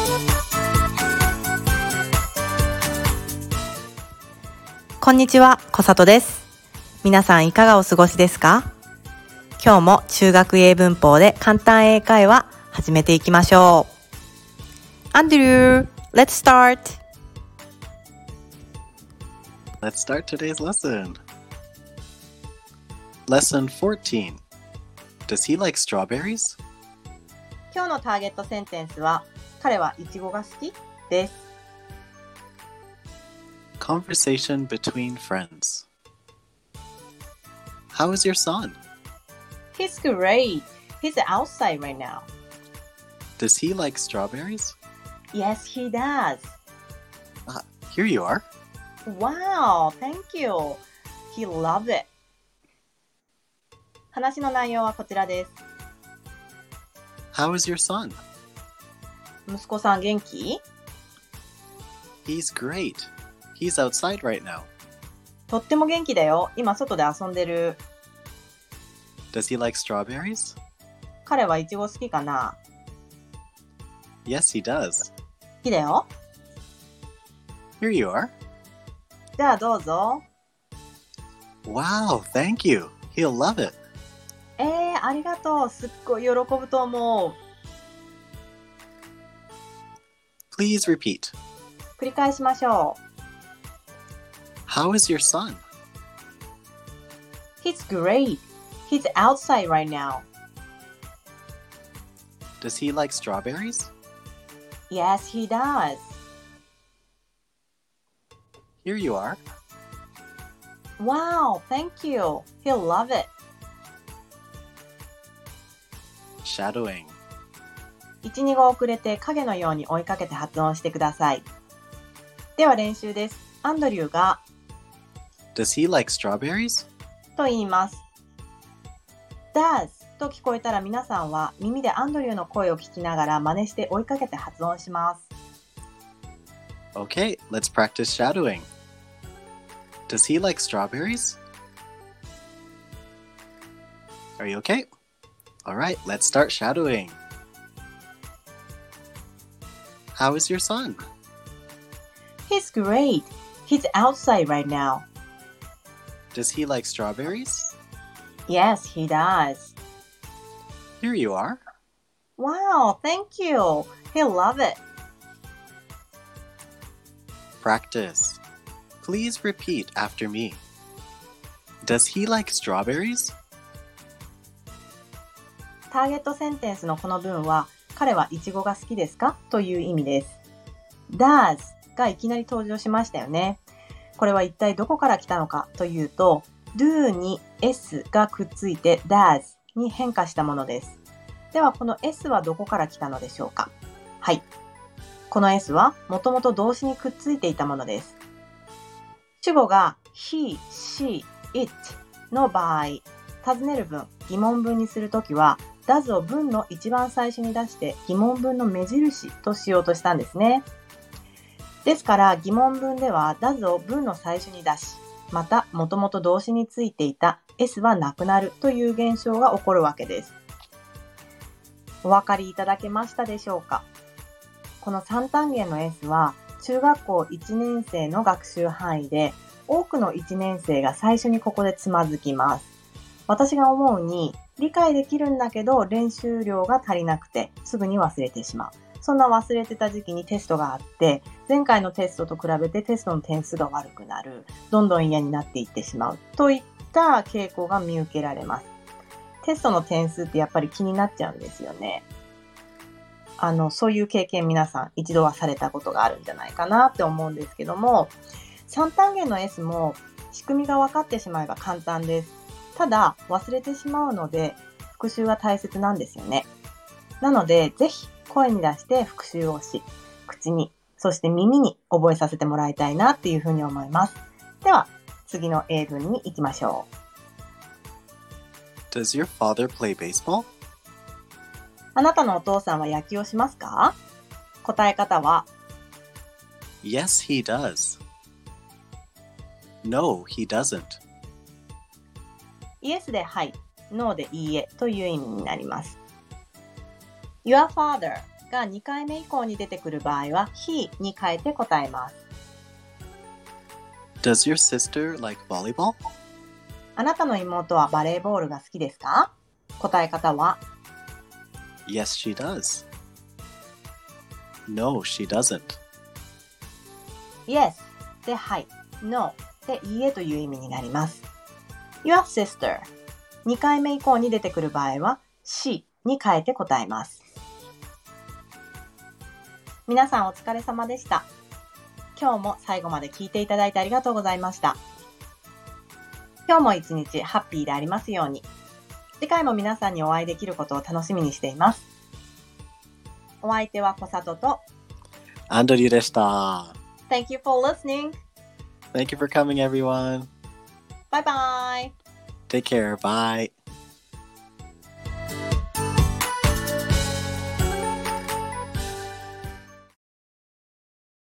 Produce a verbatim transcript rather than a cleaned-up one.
こんにちは、小里です。皆さんいかがお過ごしですか？今日も中学英文法で簡単英会話始めていきましょう。アンドリュー、let's start! Let's start today's lesson. Lesson fourteen. Does he like strawberries? 今日のターゲットセンテンスは、彼はイチゴが好きです。 Conversation between friends. How is your son? He's great. He's outside right now. Does he like strawberries? Yes, he does. Ah, here you are. Wow, thank you. He loves it. 話の内容はこちらです。 How is your son? 息子さん元気？ He's great. He's outside right now. とっても元気だよ。今外で遊んでる。 Does he like strawberries? 彼はイチゴ好きかな？ Yes, he does. 好きだよ。 Here you are. じゃあどうぞ。 Wow, thank you. He'll love it. えー、ありがとう。すっごい喜ぶと思う。 Please repeat. 繰り返しましょう。 How is your son? He's great. He's outside right now. Does he like strawberries? Yes, he does. Here you are. Wow, thank you. He'll love it. Shadowing. いち、にご遅れて影のように追いかけて発音してください。では練習です。アンドリューが Does he like strawberries? と言います。does と聞こえたら皆さんは耳でアンドリューの声を聞きながら真似して追いかけて発音します。 Okay, let's practice shadowing. Does he like strawberries? Are you okay? Alright, let's start shadowing. How is your son? He's great. He's outside right now. Does he like strawberries? Yes, he does. Here you are. Wow, thank you. He'll love it. Practice. Please repeat after me. Does he like strawberries? ターゲットセンテンスのこの文は、彼はイチゴが好きですかという意味です。does がいきなり登場しましたよね。これは一体どこから来たのかというと、do に s がくっついて does に変化したものです。ではこの s はどこから来たのでしょうか？はい。この s はもともと動詞にくっついていたものです。主語が he, she, it の場合、尋ねる文、疑問文にするときは、does を文の一番最初に出して疑問文の目印としようとしたんですね。ですから疑問文では does を文の最初に出し、またもともと動詞についていた s はなくなるという現象が起こるわけです。お分かりいただけましたでしょうか？このさん単元の s は中学校いちねん生の学習範囲で多くのいちねん生が最初にここでつまずきます。私が思うに理解できるんだけど練習量が足りなくてすぐに忘れてしまう。そんな忘れてた時期にテストがあって、前回のテストと比べてテストの点数が悪くなる。どんどん嫌になっていってしまう。といった傾向が見受けられます。テストの点数ってやっぱり気になっちゃうんですよね。あの、そういう経験皆さん一度はされたことがあるんじゃないかなって思うんですけども、さん単元の S も仕組みが分かってしまえば簡単です。ただ忘れてしまうので復習が大切なんですよね。なのでぜひ声に出して復習をし、口に、そして耳に覚えさせてもらいたいなっていうふうに思います。では次の英文に行きましょう。Does your father play baseball? あなたのお父さんは野球をしますか？答え方は Yes, he does. No, he doesn't. イエスではい、ノーでいいえという意味になります。Your father がにかいめ以降に出てくる場合は he に変えて答えます。 Does your sister like volleyball? あなたの妹はバレーボールが好きですか？答え方は Yes, she does. No, she doesn't. Yes ではい、No でいいえという意味になります。Your sister にかいめ以降に出てくる場合は she に変えて答えます。皆さんお疲れ様でした。今日も最後まで聞いていただいてありがとうございました。今日も一日ハッピーでありますように。次回も皆さんにお会いできることを楽しみにしています。お相手は小里とアンドリューでした。 Thank you for listening. Thank you for coming, everyone. Bye bye. Take care. Bye.